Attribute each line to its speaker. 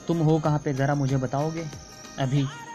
Speaker 1: तुम हो कहाँ पे ज़रा मुझे बताओगे? अभी